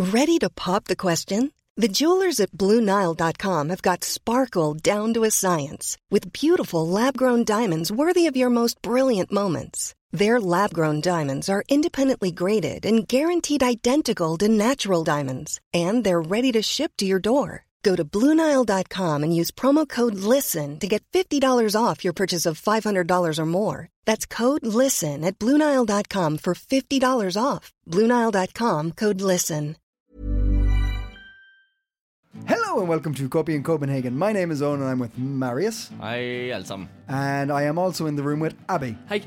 Ready to pop the question? The jewelers at BlueNile.com have got sparkle down to a science with beautiful lab-grown diamonds worthy of your most brilliant moments. Their lab-grown diamonds are independently graded and guaranteed identical to natural diamonds, and they're ready to ship to your door. Go to BlueNile.com and use promo code LISTEN to get $50 off your purchase of $500 or more. That's code LISTEN at BlueNile.com for $50 off. BlueNile.com, code LISTEN. Hello and welcome to Copy in Copenhagen. My name is Owen and I'm with Marius. Hej alle sammen. And I am also in the room with Abby. Hej.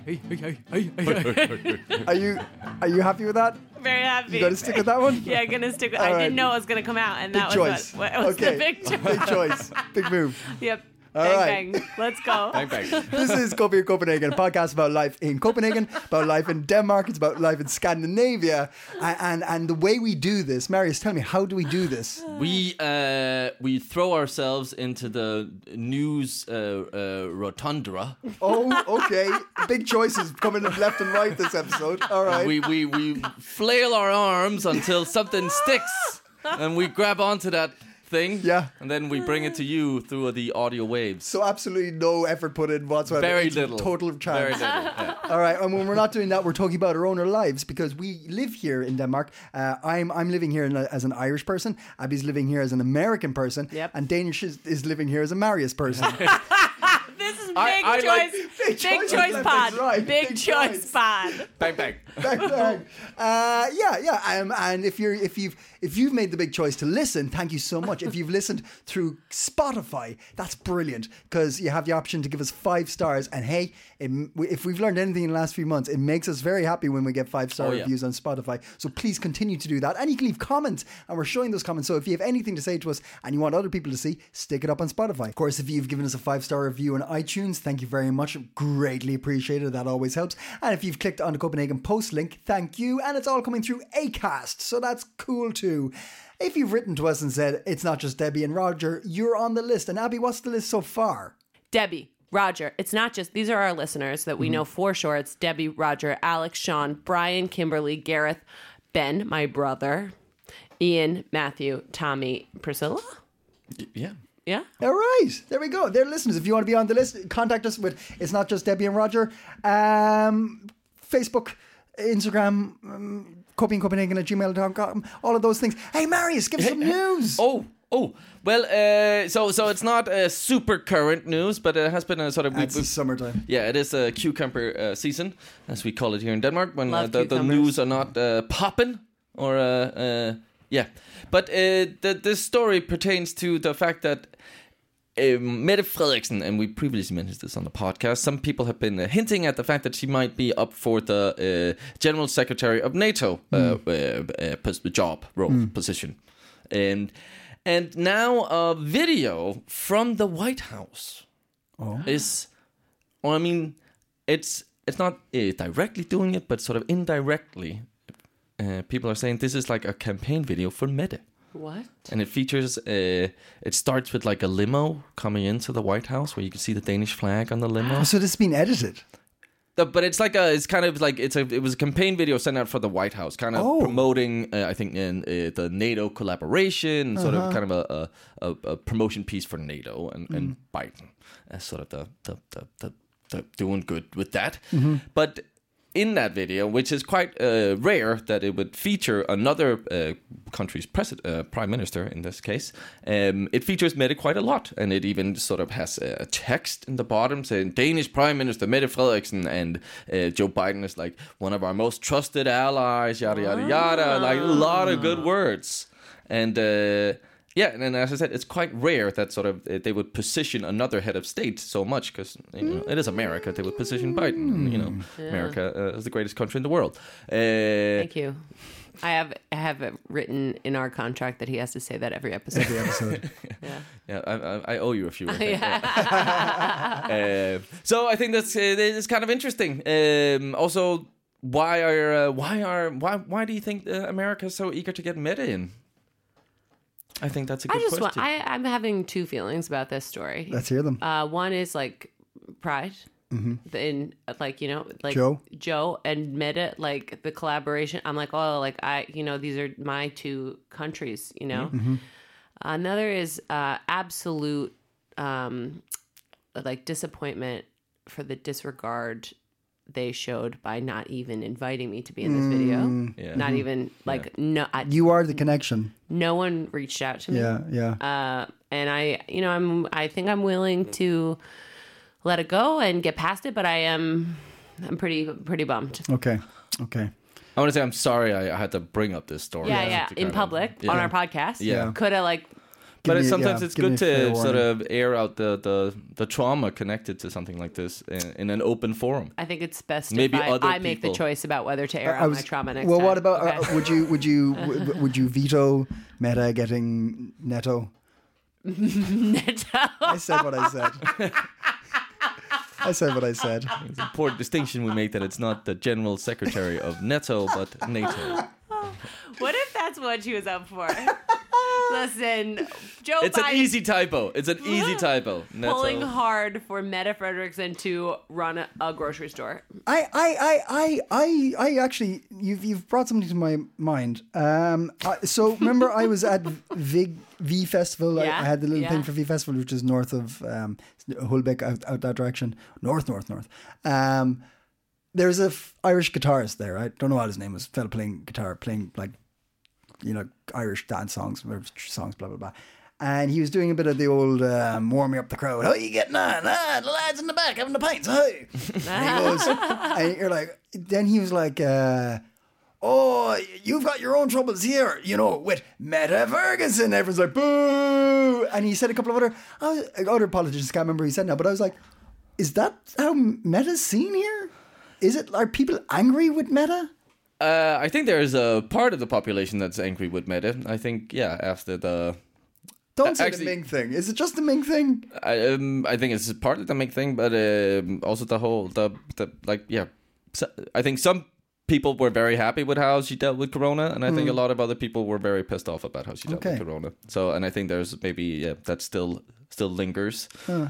Are you happy with that? Very happy. You got to stick with that one? Yeah, I'm going to stick with All I right. didn't know it was going to come out, and Big that choice. was what was Okay. the big choice. Big choice. Big move. Yep. All Bang, right. bang. Let's go. Bang, bang. This is Copy in Copenhagen, a podcast about life in Copenhagen, about life in Denmark, it's about life in Scandinavia. And the way we do this, Marius, tell me, how do we do this? We throw ourselves into the news rotunda. Oh, okay. Big choices coming left and right this episode. All right. We flail our arms until something sticks, and we grab onto that thing. Yeah. And then we bring it to you through the audio waves. So absolutely no effort put in whatsoever. Very It's little. Total chance. Very little. Yeah. All right, and when we're not doing that, we're talking about our own lives because we live here in Denmark. I'm living here as an Irish person. Abby's living here as an American person. Yep. And Danish is living here as a Marius person. This is I big like- choice. Big Big choice choice left pod. and right. Big Big choice choice. pod. Bang, bang. Bang, bang. And if you've made the big choice to listen, thank you so much. If you've listened through Spotify, that's brilliant because you have the option to give us 5 stars. And hey, if we've learned anything in the last few months, it makes us very happy when we get 5-star reviews on Spotify. So please continue to do that. And you can leave comments, and we're showing those comments. So if you have anything to say to us and you want other people to see, stick it up on Spotify. Of course, if you've given us a 5-star review on iTunes, thank you very much. Greatly appreciated. That always helps. And if you've clicked on the Copenhagen Post link, thank you. And it's all coming through Acast, so that's cool too. If you've written to us and said it's not just Debbie and Roger, you're on the list. And Abby, what's the list so far? Debbie, Roger. It's not just, these are our listeners that we know for sure. It's Debbie, Roger, Alex, Sean, Brian, Kimberly, Gareth, Ben, my brother, Ian, Matthew, Tommy, Priscilla. Yeah. Yeah. All right, there we go. They're listeners. If you want to be on the list, contact us with It's Not Just Debbie and Roger. Facebook, Instagram, copyincopenhagen@gmail.com, all of those things. Hey, Marius, give us some news. Well, so it's not super current news, but it has been a sort of... It's the summertime. Yeah, it is a cucumber season, as we call it here in Denmark, when Love the cucumbers. news are not popping, or yeah. But this story pertains to the fact that Mette Frederiksen, and we previously mentioned this on the podcast, some people have been hinting at the fact that she might be up for the General Secretary of NATO position. And now a video from the White House is, well, I mean, it's not directly doing it, but sort of indirectly. People are saying this is like a campaign video for Mette. What? And it features, it starts with like a limo coming into the White House where you can see the Danish flag on the limo. Oh, so this has been edited. But it's like it was a campaign video sent out for the White House, kind of promoting, I think, the NATO collaboration, sort of kind of a promotion piece for NATO and Biden as sort of the doing good with that. But in that video, which is quite rare that it would feature another country's prime minister in this case, it features Mette quite a lot, and it even sort of has a text in the bottom saying Danish Prime Minister Mette Frederiksen, and Joe Biden is like one of our most trusted allies, yada yada yada, like a lot of good words. And yeah, and then as I said, it's quite rare that sort of they would position another head of state so much because it is America. They would position Biden. America is the greatest country in the world. Thank you. I have it written in our contract that he has to say that every episode. I owe you a few. So I think it's kind of interesting. Also, why do you think America is so eager to get Mette in? I think that's a good question. I'm having two feelings about this story. Let's hear them. One is like pride. in like, you know, like Joe and Meta, like the collaboration. I'm like, oh, like these are my two countries, you know. Another is absolute like disappointment for the disregard they showed by not even inviting me to be in this video. Not even like no. You are the connection. No one reached out to me. Yeah. And I think I'm willing to let it go and get past it, but I'm pretty bummed. Okay. I want to say I'm sorry I had to bring up this story. Yeah. In public on our podcast. Yeah. Could have like. But sometimes it's good to sort of air out the trauma connected to something like this in an open forum. I think it's best Maybe if I make the choice about whether to air out my trauma next time. Well, what about would you veto Meta getting Neto? Neto. I said what I said. I said what I said. It's an important distinction we make that it's not the general secretary of NATO, but NATO. What if that's what she was up for? Listen, Joe It's Biden an easy typo. It's an easy typo. pulling hard for Meta Frederickson to run a grocery store. I actually, you've brought something to my mind. So remember, I was at V Festival. I had the little thing for V Festival, which is north of Hulbeck, out that direction, north. There's a Irish guitarist there. I don't know what his name was. Fella playing guitar, playing like, you know, Irish dance songs, blah blah blah. And he was doing a bit of the old warming up the crowd. How you getting on? The lads in the back having the pints. Hey. And he goes, and you're like, then he was like, oh, you've got your own troubles here, you know, with Meta Ferguson. Everyone's like, boo. And he said a couple of other politicians, can't remember who he said now, but I was like, is that how Meta's seen here? Are people angry with Meta? I think there's a part of the population that's angry with Meta. I think, after the... Don't say the Ming thing. Is it just the Ming thing? I think it's part of the Ming thing, but also the whole, So I think some people were very happy with how she dealt with Corona, and I think a lot of other people were very pissed off about how she dealt with Corona. So, and I think there's maybe, that still lingers.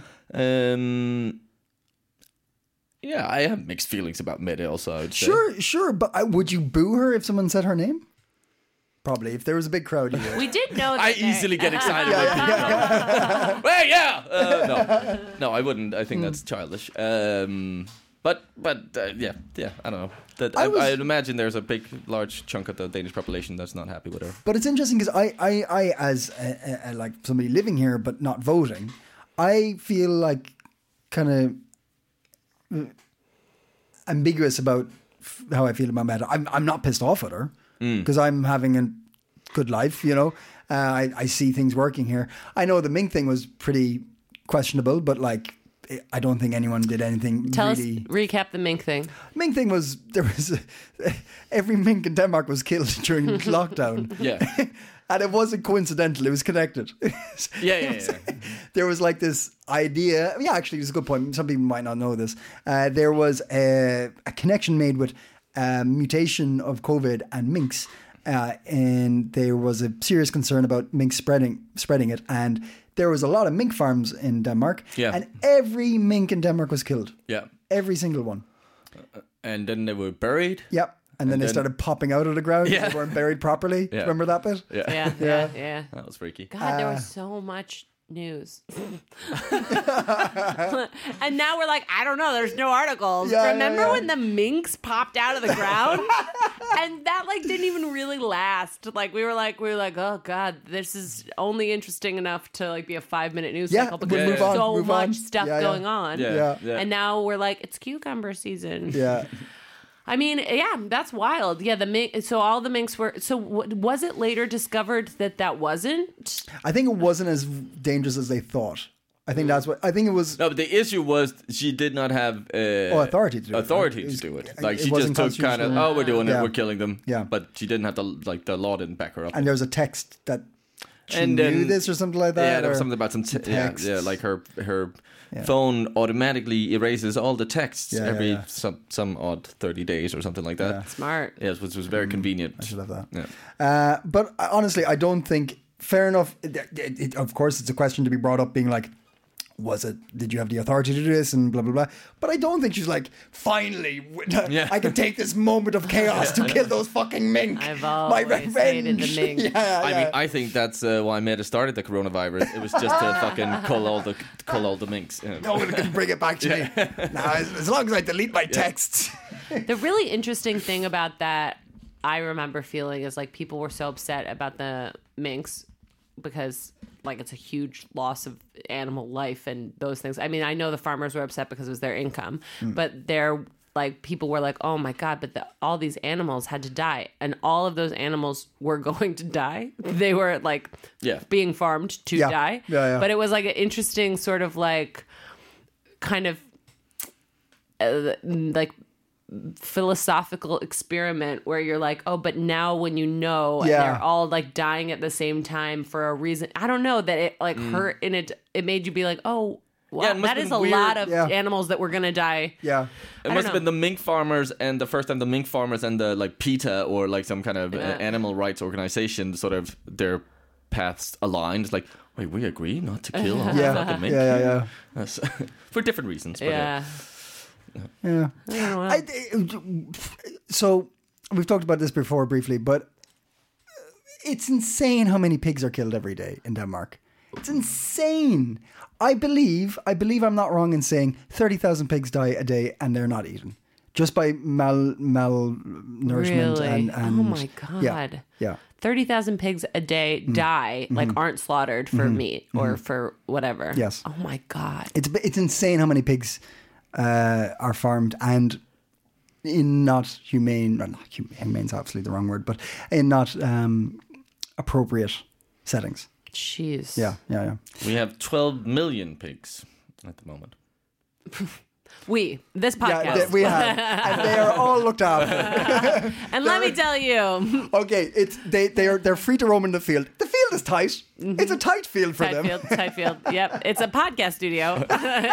Yeah, I have mixed feelings about Meta also, I would say. Sure, but would you boo her if someone said her name? Probably, if there was a big crowd. We did know that. I easily get excited when people Well, no, I wouldn't. I think that's childish. But I don't know. I imagine there's a large chunk of the Danish population that's not happy with her. But it's interesting because I as like somebody living here but not voting, I feel like kind of ambiguous about how I feel about Meta. I'm not pissed off at her because I'm having a good life, you know. I see things working here. I know the Ming thing was pretty questionable, but like I don't think anyone did anything. Recap the Mink thing. Mink thing was every mink in Denmark was killed during lockdown. Yeah. And it wasn't coincidental, it was connected. Yeah. There was like this idea. Yeah, actually, it's a good point. Some people might not know this. There was a connection made with mutation of COVID and minks. And there was a serious concern about mink spreading it. And there was a lot of mink farms in Denmark. Yeah. And every mink in Denmark was killed. Yeah. Every single one. And then they were buried. Yep. And then they started popping out of the ground. Yeah. They weren't buried properly. Yeah. Remember that bit? Yeah. That was freaky. God, there was so much news. And now we're like, I don't know, there's no articles. Remember when the minks popped out of the ground? And that like didn't even really last. Like we were like, oh God, this is only interesting enough to like be a 5-minute news cycle because there's so much stuff going on. Yeah. And now we're like, it's cucumber season. Yeah. I mean, that's wild. Yeah, so all the minks were. So was it later discovered that wasn't? I think it wasn't as dangerous as they thought. I think that's what. I think it was. No, but the issue was she did not have authority to do it. Like she just took kind of, we're doing it, we're killing them. Yeah, but she didn't have the law didn't back her up. And there was a text that she knew this or something like that. Yeah, there was something about some text. Like her phone automatically erases all the texts every some odd 30 days or something like that. Yeah. Smart. Yes, which was very convenient. I should have that. Yeah. But honestly, I don't think. Fair enough. Of course, it's a question to be brought up, being like, Did you have the authority to do this and blah, blah, blah. But I don't think she's like, finally, I can take this moment of chaos to kill those fucking mink. I've always hated the mink. Yeah. I mean, I think that's why Meta started the coronavirus. It was just to fucking cull all the minks. No one can bring it back to me. Nah, as long as I delete my texts. The really interesting thing about that, I remember feeling, is like people were so upset about the minks because like it's a huge loss of animal life and those things. I mean, I know the farmers were upset because it was their income, but they're like, people were like, oh my God, but all these animals had to die. And all of those animals were going to die. They were like being farmed to die. Yeah. But it was like an interesting sort of like kind of like philosophical experiment where you're like, oh, but now when you know and they're all like dying at the same time for a reason, I don't know, that it like hurt and it made you be like, oh, wow, that is a lot of animals that were gonna die. Yeah, it must have been the mink farmers, and the first time the mink farmers and the like PETA or like some kind of animal rights organization, sort of their paths aligned. It's like, wait, we agree not to kill all the fucking mink. Yeah. That's, for different reasons. But Yeah. I don't know. So we've talked about this before briefly, but it's insane how many pigs are killed every day in Denmark. It's insane. I believe I'm not wrong in saying 30,000 pigs die a day and they're not eaten just by malnourishment. Really? And oh my God. Yeah. 30,000 pigs a day die, like aren't slaughtered for meat or for whatever. Yes. Oh my God. It's insane how many pigs are farmed and in not humane, well, not humane's absolutely the wrong word, but in not appropriate settings. Jeez. Yeah. we have 12 million pigs at the moment. This podcast. Yeah, we have, and they are all looked after. And let me tell you, okay, they're free to roam in the field. The field is tight. It's a tight field for them. Tight field. Yep, it's a podcast studio.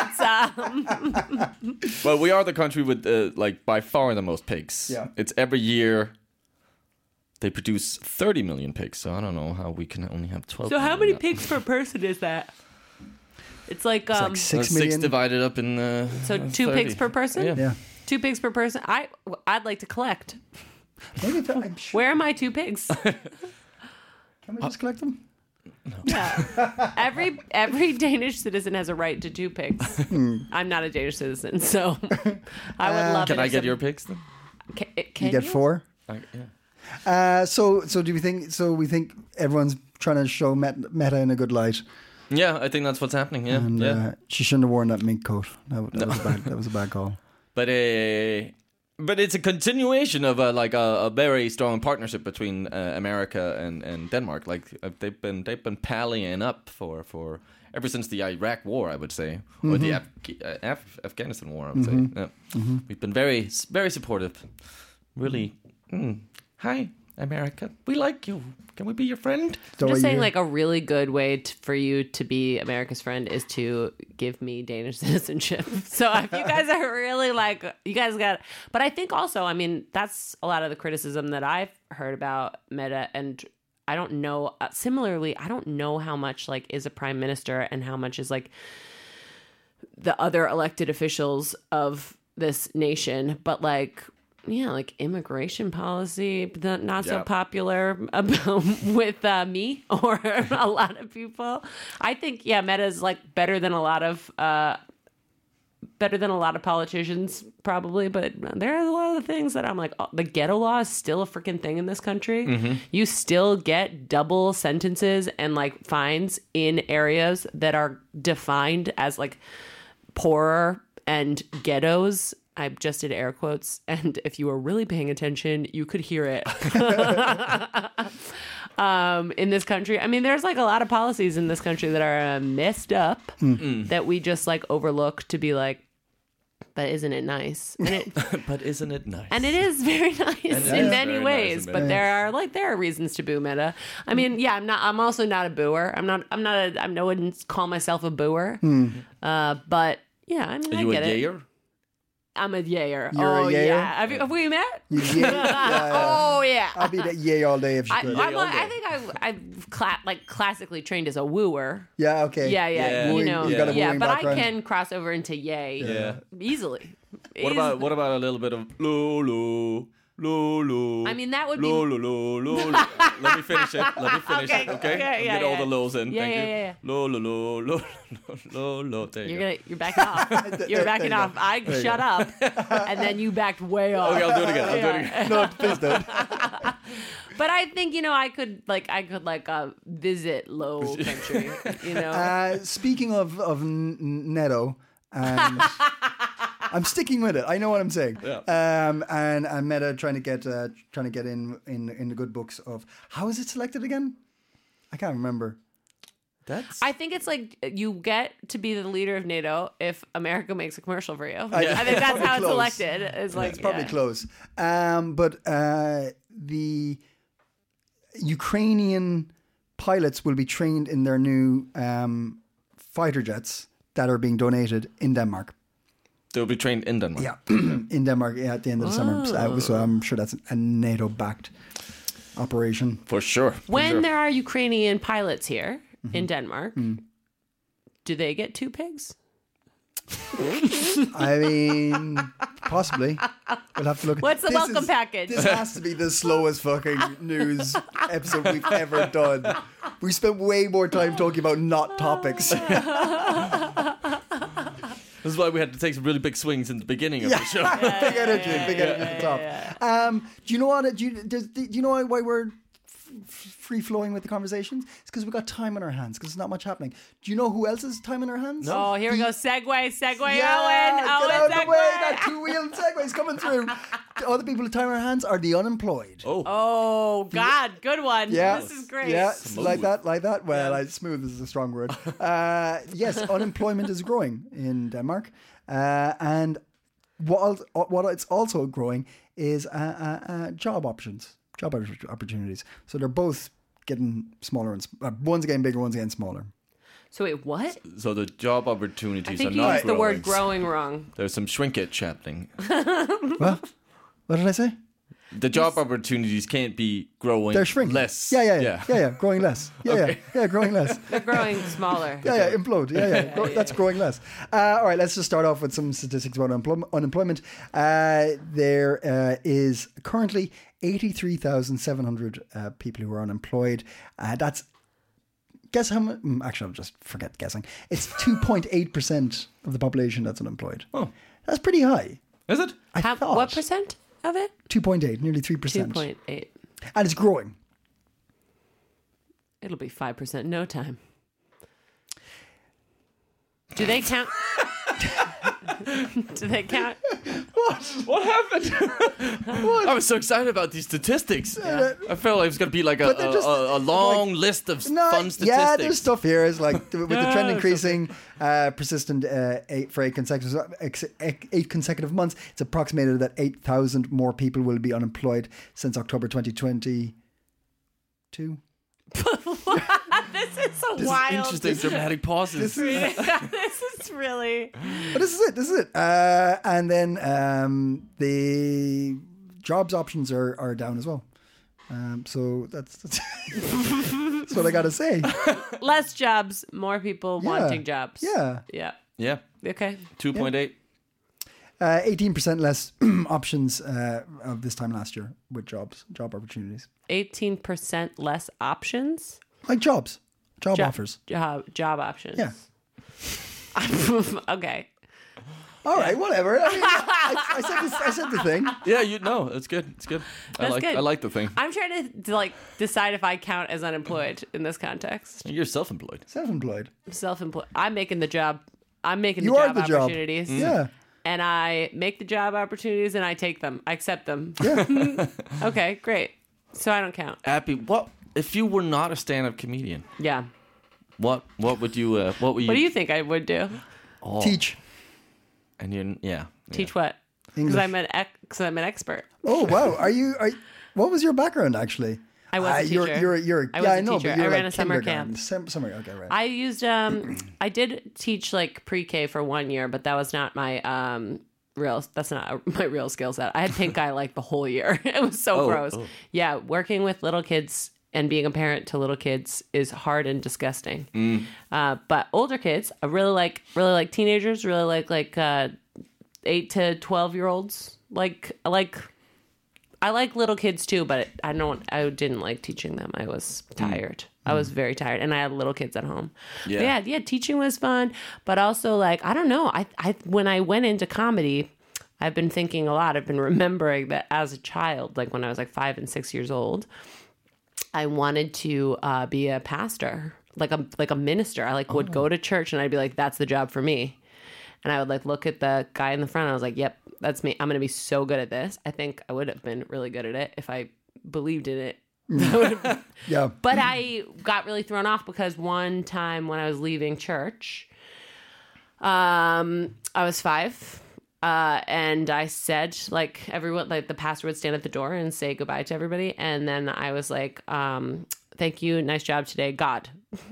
Well, we are the country with like by far the most pigs. Yeah, it's every year. They produce 30 million pigs, so I don't know how we can only have 12. So how many pigs per person is that? It's like 6 million. 6 divided up in so 2 30. pigs per person. Yeah. 2 pigs per person. I'd like to collect. Maybe I'm sure. Where are my 2 pigs? Can we just collect them? No. Yeah. Every Danish citizen has a right to 2 pigs. I'm not a Danish citizen, so I would love. Can I get your pigs then? Can you get 4? Yeah. So do we think? So we think everyone's trying to show Meta in a good light. Yeah, I think that's what's happening. Yeah, and, she shouldn't have worn that mink coat. That was a bad call. But it's a continuation of a very strong partnership between America and Denmark. Like they've been pallying up for ever since the Iraq War, I would say, or the Afghanistan War. I would say. Yeah. We've been very very supportive. Really. Hi, America. We like you. Can we be your friend? I'm just saying, like, a really good way for you to be America's friend is to give me Danish citizenship. So if you guys are really like, you guys got... But I think also, I mean, that's a lot of the criticism that I've heard about Meta, and I don't know... similarly, I don't know how much, like, is a prime minister and how much is, like, the other elected officials of this nation. But, like... Yeah, like immigration policy, not so popular with me or a lot of people. I think Meta's like better than a lot of politicians probably, but there are a lot of the things that I'm like, the ghetto law is still a freaking thing in this country. You still get double sentences and like fines in areas that are defined as like poorer and ghettos. I just did air quotes, and if you were really paying attention, you could hear it. In this country, I mean, there's like a lot of policies in this country that are messed up that we just like overlook to be like, but isn't it nice? And but isn't it nice? And it is very nice in many ways. But there are reasons to boo Meta. I mean, I'm also not a booer. I wouldn't call myself a booer. But yeah, I mean, are you I get a it. yayer? I'm a yayer. You're a yayer? Yeah. Have we met? Oh yeah. I'd be that yay all day if you could. I think I'm classically trained as a wooer. Yeah, okay. Yeah. Yeah. You know, You got a wooing but background. I can cross over into yay easily. What about a little bit of lo? I mean, that would be. Lo. Let me finish it. Okay. Get all the lows in. Yeah, Thank you. yeah. Lo. There you go. You're backing off. You're backing off. I shut up, and then you backed way off. Okay, I'll do it again. No, please don't. But I think I could visit low country. Speaking of Neto, I'm sticking with it. I know what I'm saying. Yeah. And Meta trying to get in the good books of how is it selected again? I can't remember. I think it's like you get to be the leader of NATO if America makes a commercial for you. I think that's how it's selected. It's probably close. But the Ukrainian pilots will be trained in their new fighter jets that are being donated in Denmark. They'll be trained in Denmark. Yeah, in Denmark at the end of the summer. So I'm sure that's a NATO-backed operation. For sure. When there are Ukrainian pilots here in Denmark, do they get 2 pigs? I mean, possibly. We'll have to look. What's the welcome package? This has to be the slowest fucking news episode we've ever done. We spent way more time talking about not topics. This is why we had to take some really big swings in the beginning of the show. Big energy at the top. Do you know what? Do you know why we're free flowing with the conversations? It's because we got time on our hands. Because there's not much happening. Do you know who else has time on our hands? No. Oh, here we go. Segway, Yeah, Owen. get out of the Segway. way. That 2-wheeled segway's coming through. The other people with time on our hands are the unemployed. Oh, God. Good one. Yeah. This is great. Yeah, like that. Well, smooth is a strong word. Yes, unemployment is growing in Denmark. And what it's also growing is job opportunities. So they're both getting smaller. One's getting bigger, one's getting smaller. So wait, what? So the job opportunities I are think you not used the growing. word growing wrong. There's some shrinkage happening. What did I say? The job opportunities can't be growing. They're shrinking. Less. Yeah. Growing less. Yeah, growing less. They're growing smaller. Yeah, implode. Yeah. That's growing less. All right, let's just start off with some statistics about unemployment. There is currently 83,700 people who are unemployed. Guess how much? Actually, I'll just forget guessing. It's 2.8% of the population that's unemployed. Oh. That's pretty high. Is it? I thought. What percent of it? 2.8, nearly 3%. 2.8. And it's growing. It'll be 5% in no time. Do they count? Do they count? What happened? I was so excited about these statistics. I felt like it was going to be like a long list of fun statistics. Yeah, there's stuff here. It's like with the trend increasing, persistent for 8 consecutive months, it's approximated that 8,000 more people will be unemployed since October 2022. This is so wild. Interesting dramatic pauses. This is really. But this is it. And then the jobs options are down as well. So that's that's what I got to say. Less jobs, more people wanting jobs. Yeah. Yeah. Okay. 2.8. 18% less options of this time last year with job opportunities. 18% less options? Like job offers. Job options. Yeah. Okay. All right, whatever. I mean, I said the thing. Yeah, it's good. It's good. That's good. I like the thing. I'm trying to decide if I count as unemployed in this context. You're self-employed. Self-employed. Self-employed. I'm making the job. I'm making you the are job the opportunities. Job. Yeah. And I make the job opportunities and I take them. I accept them. Yeah. Okay, great. So I don't count. Abby, what if you were not a stand-up comedian? Yeah. What would you? What do you think I would do? Oh. Teach. And you, Teach what? Because I'm an expert. Oh wow! What was your background actually? I was a teacher. I know, teacher. but you're I ran a summer camp. Summer, okay, right. I used I did teach like pre-K for 1 year, but that was not my That's not my real skill set. I had pink eye like the whole year. It was so gross. Yeah, working with little kids and being a parent to little kids is hard and disgusting. But older kids, I really like teenagers, really like 8 to 12-year-olds. I like little kids too, but I didn't like teaching them. I was tired. I was very tired, and I had little kids at home. Yeah, teaching was fun, but also like, I don't know. I when I went into comedy, I've been thinking a lot. I've been remembering that as a child, like when I was like 5 and 6 years old, I wanted to be a pastor, like a minister. I would go to church, and I'd be like, that's the job for me. And I would like look at the guy in the front. And I was like, yep, that's me. I'm going to be so good at this. I think I would have been really good at it if I believed in it. Yeah. But I got really thrown off because one time when I was leaving church, I was 5. And I said, like, everyone, like the pastor would stand at the door and say goodbye to everybody. And then I was like, thank you. Nice job today, God.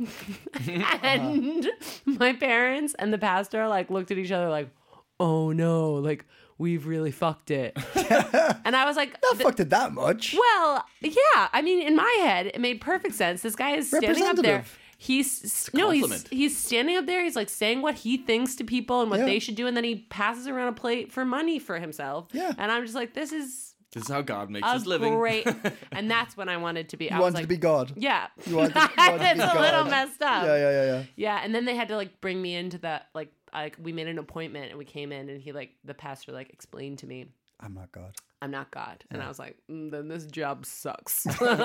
And my parents and the pastor like looked at each other like, oh no, like we've really fucked it. And I was like, not fucked it that much. Well, yeah. I mean, in my head, it made perfect sense. This guy is standing up there. He's standing up there. He's like saying what he thinks to people and what they should do, and then he passes around a plate for money for himself. Yeah, and I'm just like, this is how God makes his living. Great, and that's when I wanted to be. You wanted to be God. Yeah, you wanted to be God. It's a little messed up. Yeah. Yeah, and then they had to like bring me into that. Like we made an appointment, and we came in, and the pastor like explained to me, I'm not God. I'm not God. And I was like, then this job sucks.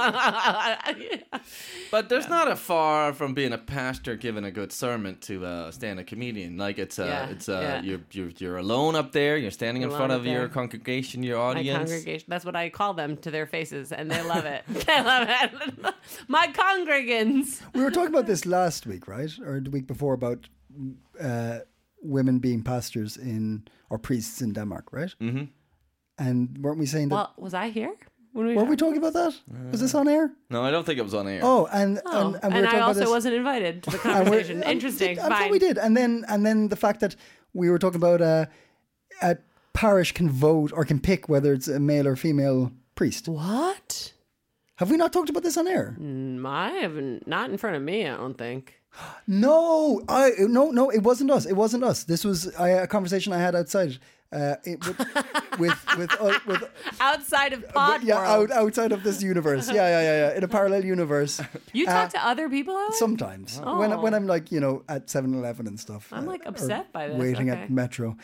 But there's not a far from being a pastor giving a good sermon to a stand-up comedian. Like you're alone up there. You're standing in front of your congregation, your audience. My congregation. That's what I call them to their faces, and they love it. They love it. My congregants. We were talking about this last week, right? Or the week before about women being pastors or priests in Denmark, right? Mm-hmm. And weren't we saying that? Well, was I here? Were we talking about that? Was this on air? No, I don't think it was on air. Oh, and I also wasn't invited to the conversation. Interesting. I thought we did. And then the fact that we were talking about a parish can vote or can pick whether it's a male or female priest. What? Have we not talked about this on air? I haven't. Not in front of me, I don't think. No, it wasn't us. It wasn't us. This was a conversation I had outside. With outside of pod world. Outside of this universe. Yeah. In a parallel universe. You talk to other people, Alex? Sometimes. Oh. When I'm like, at 7-Eleven and stuff. I'm like upset by this. Waiting at Metro.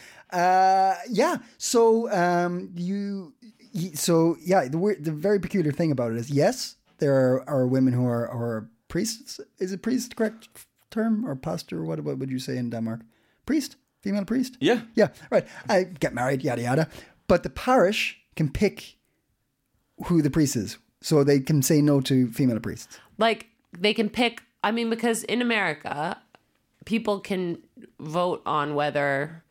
So the very peculiar thing about it is, yes, there are women who are priests. Is it priest correct term, or pastor? What would you say in Denmark? Priest? Female priest? Yeah, right. I get married, yada yada. But the parish can pick who the priest is, so they can say no to female priests. Like they can pick. I mean, because in America, people can vote on whether,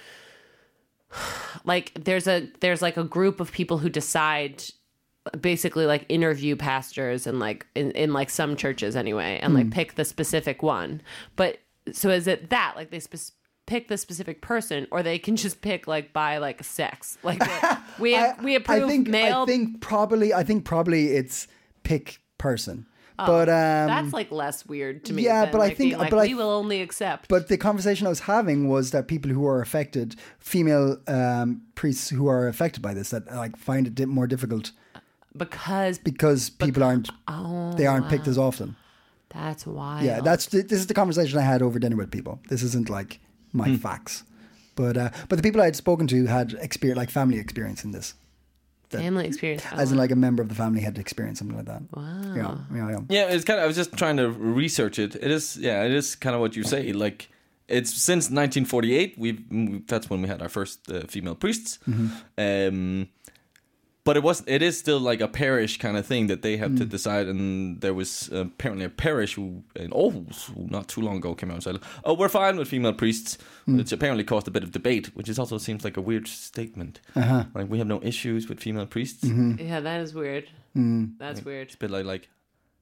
like, there's like a group of people who decide. Basically, like interview pastors and like in like some churches anyway, and like pick the specific one. But so is it that like they pick the specific person, or they can just pick like by like sex? Like we approve male. I think probably it's pick person. Oh, but that's like less weird to me. Yeah, but like I think we will only accept. But the conversation I was having was that people who are affected, female priests who are affected by this, that like find it more difficult. Because people aren't picked as often. That's wild. Yeah, this is the conversation I had over dinner with people. This isn't like my facts, but the people I had spoken to had family experience in this. Family experience, as in like a member of the family had experienced something like that. Wow. Yeah, it's kind of. I was just trying to research it. It is kind of what you say. Like it's since 1948. That's when we had our first female priests. Mm-hmm. But it is still like a parish kind of thing that they have to decide. And there was apparently a parish in Aarhus who not too long ago came out and said, "Oh, we're fine with female priests," which apparently caused a bit of debate, which also seems like a weird statement. Uh-huh. Like we have no issues with female priests. Mm-hmm. Yeah, that is weird. That's weird. It's a bit like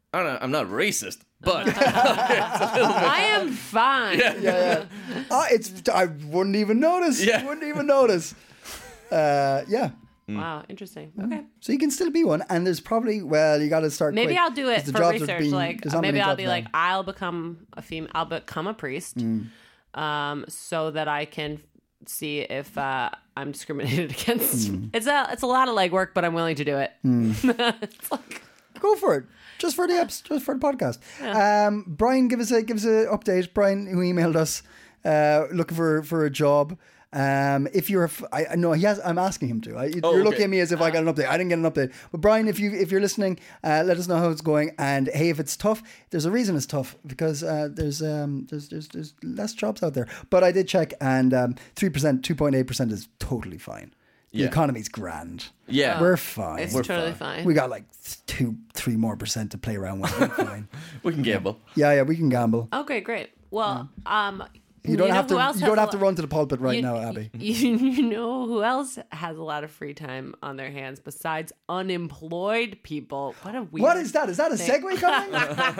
I don't know, I'm not racist, but I am fine. Yeah. I wouldn't even notice. Yeah. Wouldn't even notice. Yeah. Wow, interesting. Okay. So you can still be one, and there's probably you got to start. Maybe quick, I'll do 'cause it the for jobs are research. being- Like there's not maybe many I'll jobs be now. like, I'll become a female. I'll become a priest, so that I can see if I'm discriminated against. It's a lot of legwork, but I'm willing to do it. It's like, Go for it. Just for the podcast. Brian, give us a update. Brian, who emailed us, looking for a job. If you're, I know he has. I'm asking him to. You're looking at me as if I got an update. I didn't get an update. But Brian, if you're listening, let us know how it's going. And hey, if it's tough, there's a reason it's tough because there's less jobs out there. But I did check, and 3%, 2.8% is totally fine. The economy's grand. Yeah. We're fine. it's We're totally fine. We got like 2-3% more to play around with. We're fine. we can gamble. Yeah, we can gamble. Okay, great. Well, You don't have to. who else You has don't a have to lot- run to the pulpit right now, Abby. You know who else has a lot of free time on their hands besides unemployed people? What a weird. What is that? Is that a segue coming?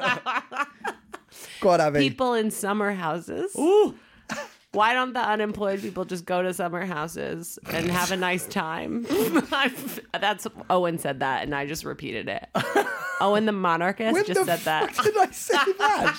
Go on, Abby. People in summer houses. Ooh. Why don't the unemployed people just go to summer houses and have a nice time? That's Owen said that, and I just repeated it. Owen the monarchist When just the said that. fuck did I say that?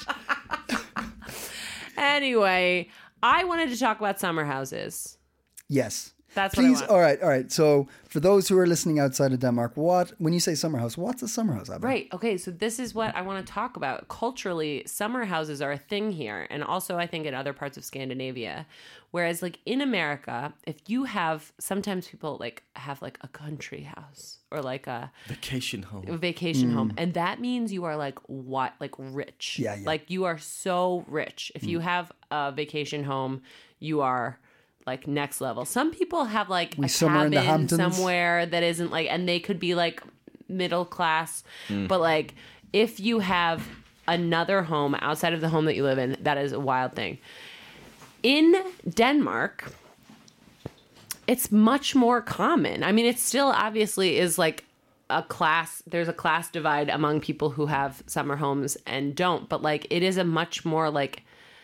Anyway, I wanted to talk about summer houses. Yes. That's what I Please. want. All right. So for those who are listening outside of Denmark, when you say summer house, what's a summer house, Abby? Right. Okay. So this is what I want to talk about. Culturally, summer houses are a thing here, and also I think in other parts of Scandinavia. Whereas, like in America, if you have, sometimes people like have like a country house or like a Vacation home. vacation home, and that means you are like rich. Yeah. Like you are so rich. If you have a vacation home, you are like next level. Some people have like a somewhere in the cabin Hamptons. somewhere that isn't like, and they could be like middle class, but like if you have another home outside of the home that you live in, that is a wild thing. In Denmark, it's much more common. I mean, it still obviously is like there's a class divide among people who have summer homes and don't, but like it is a much more like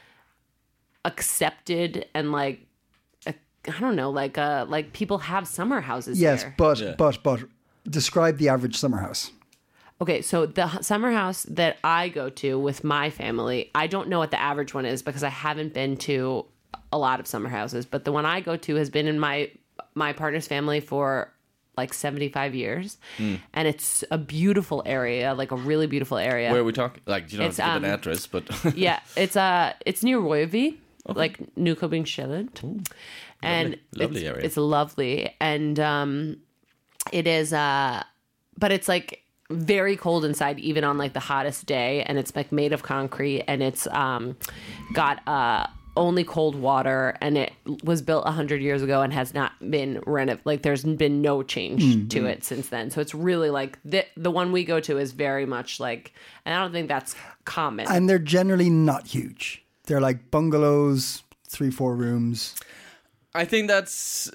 accepted and like, I don't know, like people have summer houses Yes, here. but describe the average summer house. Okay, so the summer house that I go to with my family, I don't know what the average one is because I haven't been to a lot of summer houses, but the one I go to has been in my partner's family for like 75 years, and it's a beautiful area, like a really beautiful area. Where are we talking? Like, you don't have to give an address, but Yeah, it's near Røyvig, like Nykøbing-Sjælland, and lovely area. It's lovely, and it is, but it's like very cold inside, even on like the hottest day, and it's like made of concrete, and it's got only cold water, and it was built 100 years ago and has not been renovated. Like there's been no change to it since then. So it's really like the one we go to is very much like, and I don't think that's common. And they're generally not huge. They're like bungalows, 3-4 rooms. I think that's.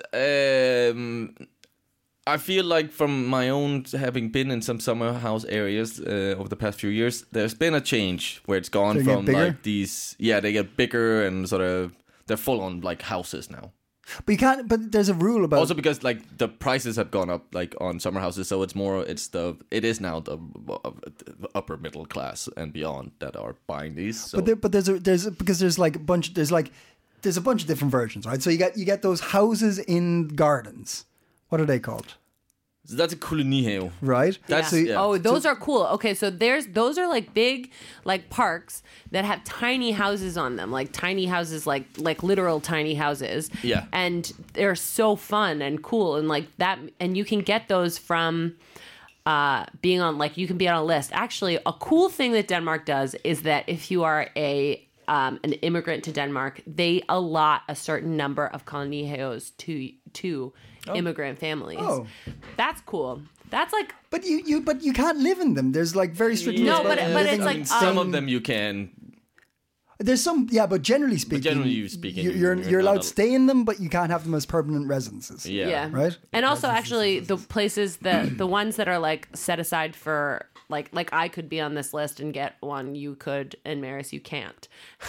I feel like from my own having been in some summer house areas over the past few years, there's been a change where it's gone They get from bigger? like these. Yeah, they get bigger and sort of they're full on like houses now. But you can't. But there's a rule about. Also because like the prices have gone up like on summer houses, so it is now the upper middle class and beyond that are buying these. So. But there's a bunch of different versions, right? So you get those houses in gardens. What are they called? So that's a kolonihave. Right? That's Yeah. Oh, those are cool. Okay, so those are like big like parks that have tiny houses on them, like tiny houses, like literal tiny houses. Yeah. And they're so fun and cool and like that, and you can get those from being on, like, you can be on a list. Actually, a cool thing that Denmark does is that if you are an immigrant to Denmark, they allot a certain number of kolonihaves to immigrant families. Oh. That's cool. That's like, But you can't live in them. There's like very strict rules. No, about but living it's in like, Some of same- them you can. There's some, yeah, but generally speaking, you're not allowed to stay in them, but you can't have them as permanent residences. Yeah. Right? And also, actually, the places the ones that are like set aside for like I could be on this list and get one. You could, and Maris, you can't.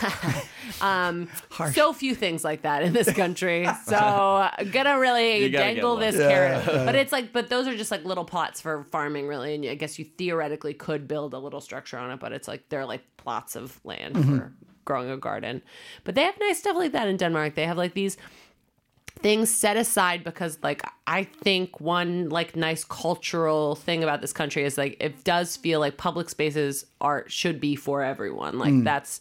So few things like that in this country. So I'm gonna really dangle this carrot. But it's like, but those are just like little plots for farming, really. And I guess you theoretically could build a little structure on it, but it's like they're like plots of land for growing a garden. But they have nice stuff like that in Denmark. They have like these things set aside because like I think one like nice cultural thing about this country is like it does feel like public spaces should be for everyone. Like that's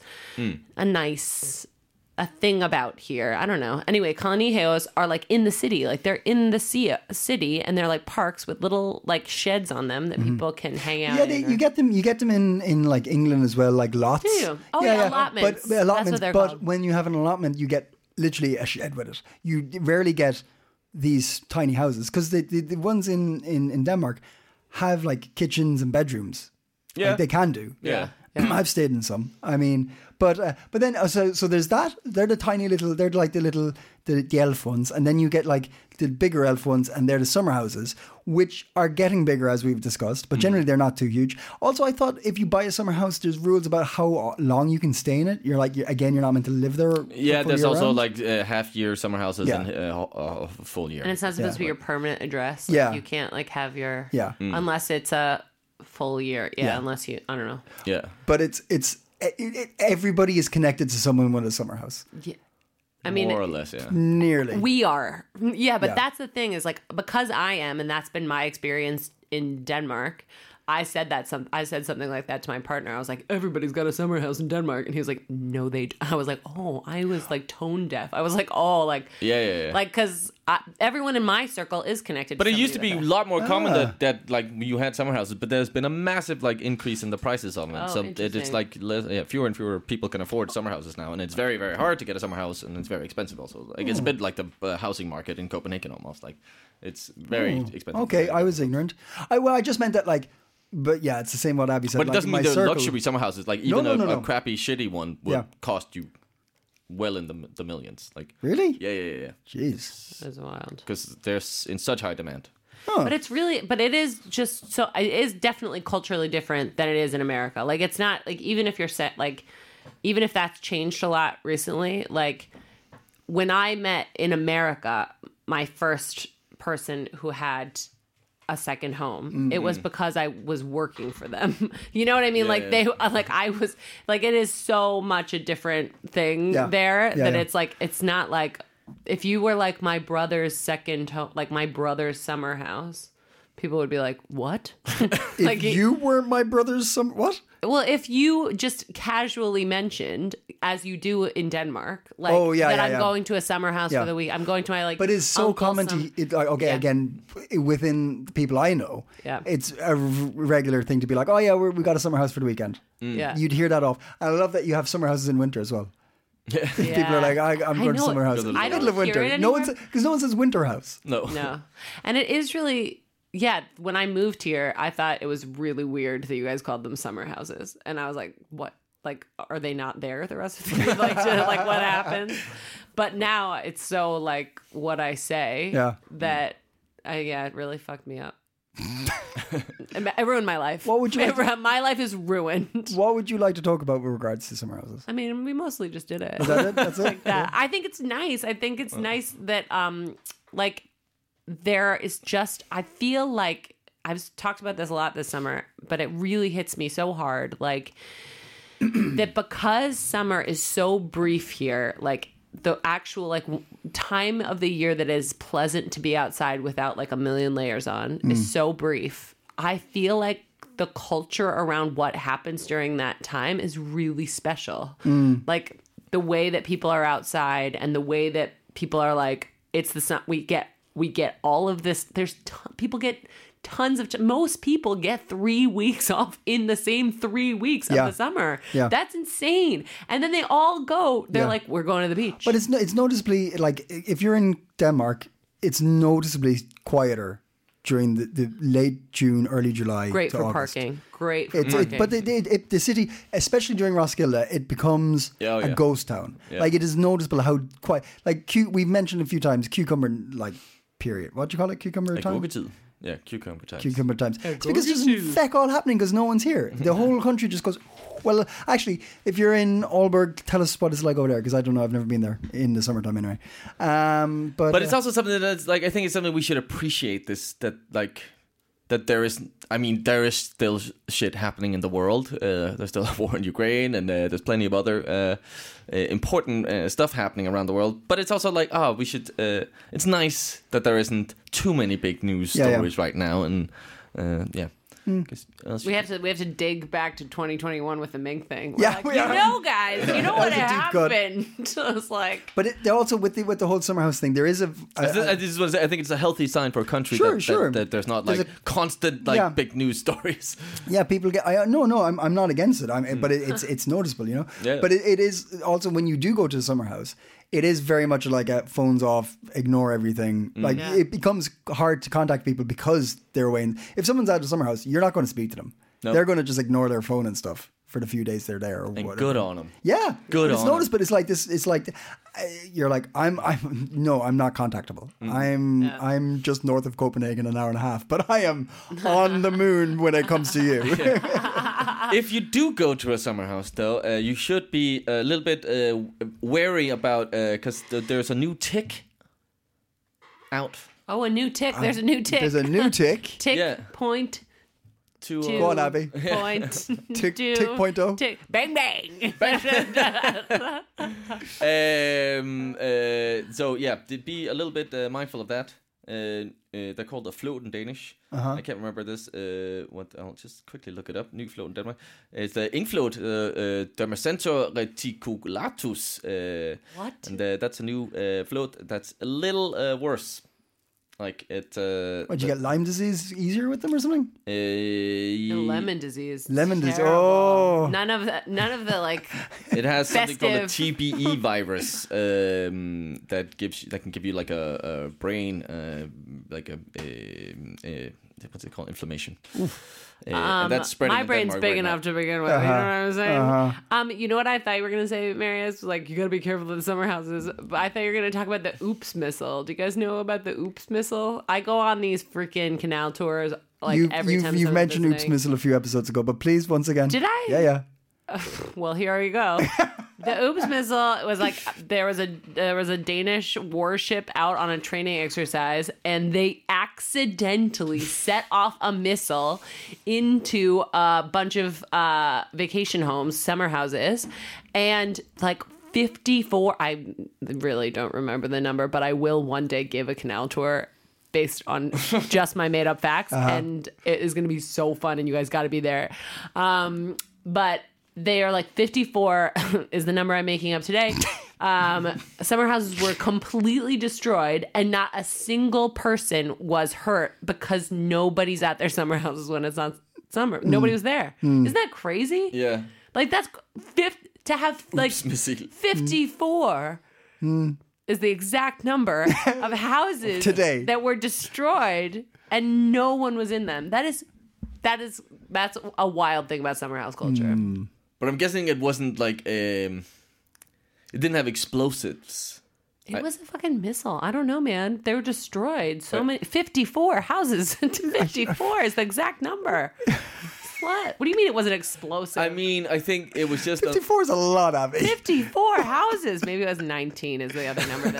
a nice thing about here. I don't know. Anyway, Coloniheos are like in the city. Like they're in the city and they're like parks with little like sheds on them that people can hang out in. You get them in like England as well, like lots. Do you? Oh yeah, allotments. But allotments, that's what they're but called. when you have an allotment, you get literally a shed with it. You rarely get these tiny houses because the ones in Denmark have like kitchens and bedrooms. Yeah, like, they can do. Yeah. I've stayed in some. I mean, but then so there's that. They're the tiny little. They're like the elf ones, and then you get like the bigger elf ones, and they're the summer houses, which are getting bigger as we've discussed. But generally, they're not too huge. Also, I thought if you buy a summer house, there's rules about how long you can stay in it. You're not meant to live there. Yeah, there's also round. like half-year summer houses and a full year. And it's not supposed to be your permanent address. Like, Yeah. you can't like have your unless it's a full year. Yeah, unless you I don't know. Yeah, but it's everybody is connected to someone with a summer house. Yeah. I mean, more or less, yeah. Nearly. we are. Yeah, but that's the thing is like because I am, and that's been my experience in Denmark. I said something like that to my partner. I was like, everybody's got a summer house in Denmark. And he was like, no, they I was like, oh, I was like tone deaf. I was like, oh, like, Yeah. Like, because everyone in my circle is connected. But to it used to be somebody a lot more common that like you had summer houses, but there's been a massive like increase in the prices of them. Oh, So interesting. it's like fewer and fewer people can afford summer houses now, and it's very, very hard to get a summer house, and it's very expensive also. Like it's a bit like the housing market in Copenhagen almost. Like it's very expensive. Okay, I was ignorant. I just meant that like. But yeah, it's the same what Abby said. But it like, doesn't my mean the circle, luxury summer houses. Like even No. a crappy, shitty one would Yeah. cost you well in the millions. Like Really? Yeah. Jeez. That's wild. Because there's in such high demand. But it is just so it is definitely culturally different than it is in America. Like it's not like even if you're set like even if that's changed a lot recently, like when I met in America my first person who had a second home, it was because I was working for them. You know what I mean? I was like, it is so much a different thing there that it's like, it's not like if you were like my brother's second home, like my brother's summer house, people would be like, what? If you were my brother's what? Well, if you just casually mentioned, as you do in Denmark, like I'm going to a summer house for the week. I'm going to my like. But it's so common again within the people I know. Yeah. It's a regular thing to be like, oh yeah, we got a summer house for the weekend. Yeah. You'd hear that off. And I love that you have summer houses in winter as well. People are like, I'm going to summer house in the middle of winter. Because no one says winter house. No. And it is really. Yeah, when I moved here, I thought it was really weird that you guys called them summer houses, and I was like, "What? Like, are they not there the rest of the year? Like, what happened?" But now it's so like what I say that it really fucked me up. It ruined my life. What would you? My life is ruined. What would you like to talk about with regards to summer houses? I mean, we mostly just did it. Is that it? That's it. Like that. I think it's nice. I think it's nice that like. There is just, I feel like, I've talked about this a lot this summer, but it really hits me so hard. Like, that because summer is so brief here, like, the actual, like, time of the year that is pleasant to be outside without, like, a million layers on is so brief. I feel like the culture around what happens during that time is really special. Like, the way that people are outside and the way that people are like, it's the sun, we get all of this. People get tons of. Most people get 3 weeks off in the same 3 weeks of the summer. Yeah. That's insane. And then they all go. They're like, we're going to the beach. But it's noticeably like if you're in Denmark, it's noticeably quieter during the late June, early July. Great to for August. parking. Great for parking. But the city, especially during Roskilde, it becomes a ghost town. Yeah. Like it is noticeable how quiet. Like we've mentioned a few times cucumber like period. What do you call it? Cucumber time. Gurketid. Yeah, cucumber times. Cucumber times. It's because there's feck all happening because no one's here. The whole country just goes. Well, actually, if you're in Aalborg, tell us what it's like over there because I don't know. I've never been there in the summertime anyway. But it's also something that's like I think it's something we should appreciate. That there is. I mean, there is still shit happening in the world. There's still a war in Ukraine, and there's plenty of other important stuff happening around the world. But it's also like, we should. It's nice that there isn't too many big news stories right now, and We have to dig back to 2021 with the Mink thing. We're guys, you know what happened? It's like, but also with the whole summer house thing, there is I think it's a healthy sign for a country that there's not like constant big news stories. Yeah, people get. I'm not against it. But it's noticeable, you know. Yeah. But it is also when you do go to the summer house. It is very much like a phones off, ignore everything. It becomes hard to contact people because they're away. If someone's at a summer house, you're not going to speak to them. No. They're going to just ignore their phone and stuff for the few days they're there. Or and whatever. Good on them. Yeah, good. It's noticed, but it's like this. It's like you're like I'm not contactable. I'm just north of Copenhagen, an hour and a half, but I am on the moon when it comes to you. If you do go to a summer house, though, you should be a little bit wary about because there's a new tick out. Oh, a new tick! There's a new tick. There's a new tick. Tick point. Go on, Abby. Point. Tick 0.0. Tick. Bang bang. So yeah, be a little bit mindful of that. They're called the float in Danish. I can't remember this. I'll just quickly look it up. New float in Denmark. It's the infloat Dermacentor reticulatus. What? And that's a new float that's a little worse. Like it. What, you get Lyme disease easier with them or something? Lemon disease. Lemon disease. Terrible. Oh, None of the like. It has something called a festive. TBE virus that can give you like a brain like a what's it called, inflammation. And that's spreading. My in brain's Denmark big right enough now. to begin with. You know what I'm saying? You know what I thought you were gonna say, Marius? Like, you gotta be careful of the summer houses. But I thought you were gonna talk about the Oops missile. Do you guys know about the Oops missile? I go on these freaking canal tours every time. You've mentioned Oops missile a few episodes ago, but please once again. Did I? Yeah. Well, here you go. The Oops missile was like there was a Danish warship out on a training exercise, and they accidentally set off a missile into a bunch of vacation homes, summer houses, and like 54. I really don't remember the number, but I will one day give a canal tour based on just my made up facts, and it is going to be so fun, and you guys got to be there. But they are like 54 is the number I'm making up today. Summer houses were completely destroyed, and not a single person was hurt because nobody's at their summer houses when it's not summer. Nobody was there. Isn't that crazy? Yeah. Like that's to have like 54 is the exact number of houses today that were destroyed, and no one was in them. That's a wild thing about summer house culture. But I'm guessing it wasn't like it didn't have explosives. It was a fucking missile. I don't know, man. They were destroyed. So many 54 houses. 54 is the exact number. What? What do you mean it wasn't explosive? I mean, I think it was just 54 is a lot, Abby. 54 houses. Maybe it was 19 is the other number.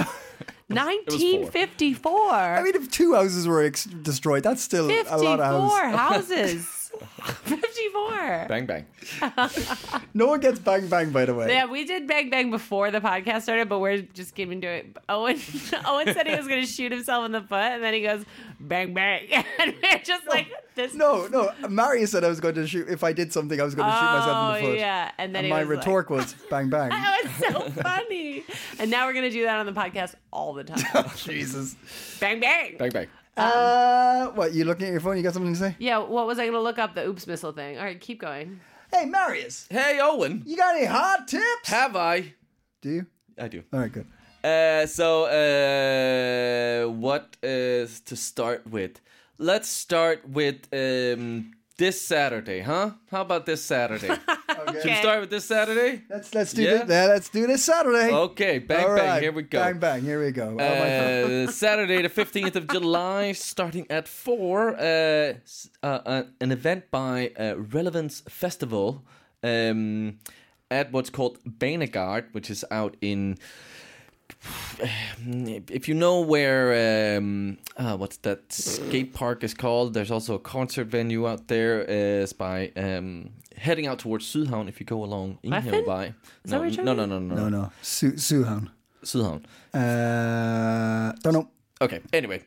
1954. I mean, if 2 houses were destroyed, that's still a lot of houses. 54. Bang bang. No one gets bang bang, by the way. Yeah, we did bang bang before the podcast started, but we're just getting to it. Owen said he was going to shoot himself in the foot, and then he goes bang bang, and we're just like this. No. Marius said I was going to shoot. If I did something, I was going to shoot myself in the foot. Yeah, and then my retort was bang bang. That was so funny. And now we're going to do that on the podcast all the time. Oh, Jesus. Bang bang. Bang bang. What, you looking at your phone? You got something to say? Yeah, what was I going to look up? The Oops missile thing. All right, keep going. Hey, Marius. Hey, Owen. You got any hot tips? Have I? Do you? I do. All right, good. What is to start with? Let's start with This Saturday, huh? How about this Saturday? Okay. Should we start with this Saturday? Let's do this. Let's do this Saturday. Okay, bang, All bang, right. here we go. Bang, bang, here we go. Saturday, the 15th of July, starting at 4, an event by Relevance Festival at what's called Banegård, which is out in... If you know where what's that skate park is called, there's also a concert venue out there. It's by heading out towards Sydhavn. If you go along Inghavevej. No. Sydhavn. Sydhavn. Don't know. Okay. Anyway,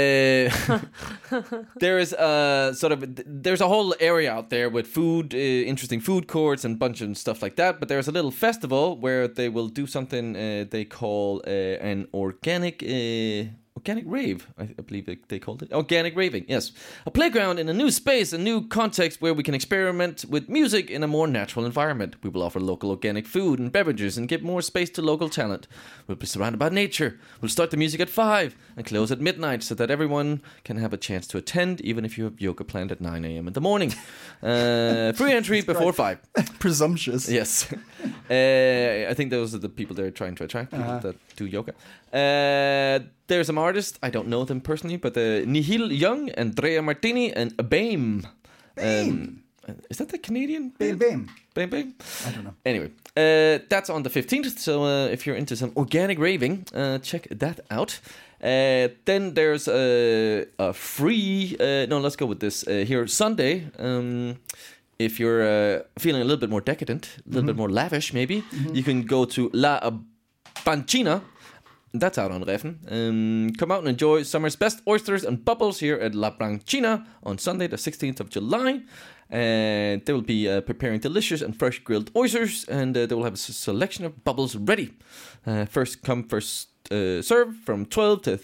there is there's a whole area out there with food, interesting food courts and bunch of stuff like that. But there's a little festival where they will do something they call an organic rave. I believe they called it organic raving. Yes, a playground in a new space, a new context where we can experiment with music in a more natural environment. We will offer local organic food and beverages and give more space to local talent. We'll be surrounded by nature. We'll start the music at 5 and close at midnight so that everyone can have a chance to attend, even if you have yoga planned at 9 a.m. in the morning. Free entry before 5. Presumptuous. Yes. I think those are the people they're trying to attract, people that do yoga. There's some artists, I don't know them personally, but Nihil Young, Andrea Martini, and BAME. Is that the Canadian? BAME. BAME? I don't know. Anyway, that's on the 15th, so if you're into some organic raving, check that out. Then there's a free... let's go with this. Here, Sunday... if you're feeling a little bit more decadent, a little bit more lavish, maybe, you can go to La Bancina. That's out on Reffen. Come out and enjoy summer's best oysters and bubbles here at La Bancina on Sunday, the 16th of July. And they will be preparing delicious and fresh grilled oysters, and they will have a selection of bubbles ready. First come, first serve from 12 to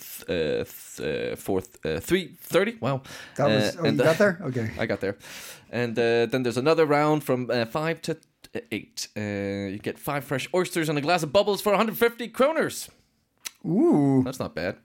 3:30. Wow. That was, you got there? Okay. I got there. And then there's another round from 5 to 8. You get 5 fresh oysters and a glass of bubbles for 150 kroners. Ooh. That's not bad.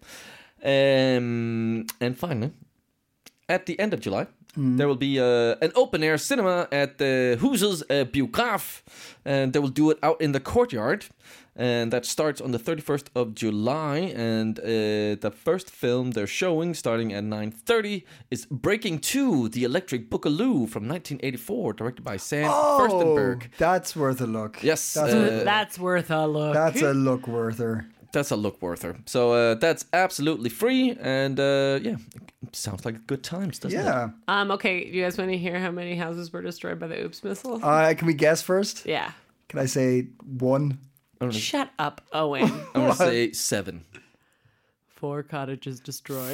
And finally, at the end of July, there will be an open-air cinema at the Huset Biograf. And they will do it out in the courtyard. And that starts on the 31st of July. And the first film they're showing, starting at 9:30, is Breaking 2, The Electric Boogaloo from 1984, directed by Sam Furstenberg. That's worth a look. Yes. That's worth a look. That's a look worther. That's a look worther. So that's absolutely free. And it sounds like good times, doesn't it? Yeah. Okay, you guys want to hear how many houses were destroyed by the Oops missile? Can we guess first? Yeah. Can I say 1? Shut up, Owen. I'm going to say 7. 4 cottages destroyed.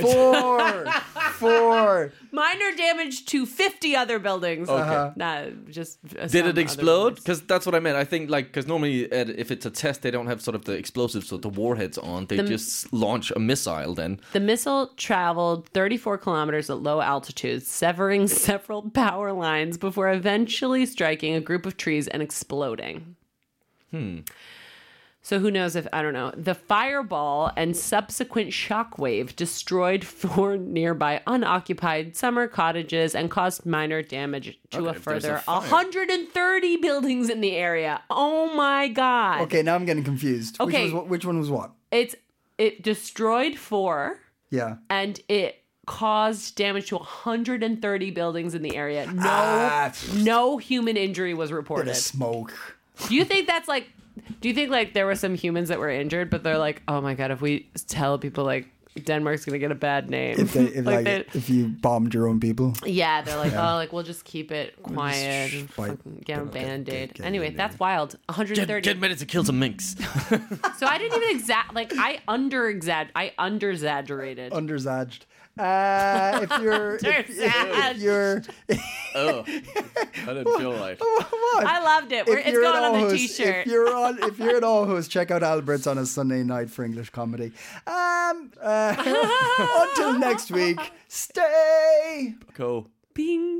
4. Minor damage to 50 other buildings. Okay. Did it explode? Because that's what I meant. I think, because normally if it's a test, they don't have sort of the explosives or the warheads on. They just launch a missile then. The missile traveled 34 kilometers at low altitude, severing several power lines before eventually striking a group of trees and exploding. So who knows I don't know. The fireball and subsequent shockwave destroyed 4 nearby unoccupied summer cottages and caused minor damage to a further 130 buildings in the area. Oh my God. Okay, now I'm getting confused. Okay. Which one was what? It destroyed 4. Yeah. And it caused damage to 130 buildings in the area. No human injury was reported. Bit of smoke. Do you think there were some humans that were injured, but they're like, oh my God, if we tell people Denmark's gonna get a bad name. If you bombed your own people. Yeah, they're like, we'll just keep it quiet and fucking get a Band-Aid. Anyway, that's wild. 130. Get ready to kill some minks. So I didn't even I under-exaggerated. Underzaged. If you're Oh, I didn't feel like. I loved it. It's going on the t-shirt. If you're at Aarhus, check out Albert's on a Sunday night for English comedy. Until next week, stay. Cool. Bing.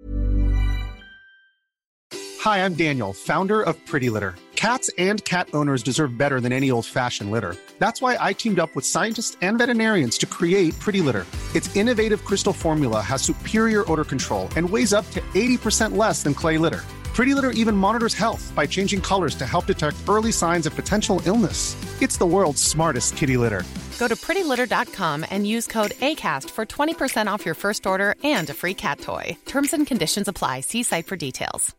Hi, I'm Daniel, founder of Pretty Litter. Cats and cat owners deserve better than any old-fashioned litter. That's why I teamed up with scientists and veterinarians to create Pretty Litter. Its innovative Crystal formula has superior odor control and weighs up to 80% less than clay litter. Pretty Litter even monitors health by changing colors to help detect early signs of potential illness. It's the world's smartest kitty litter. Go to prettylitter.com and use code ACAST for 20% off your first order and a free cat toy. Terms and conditions apply. See site for details.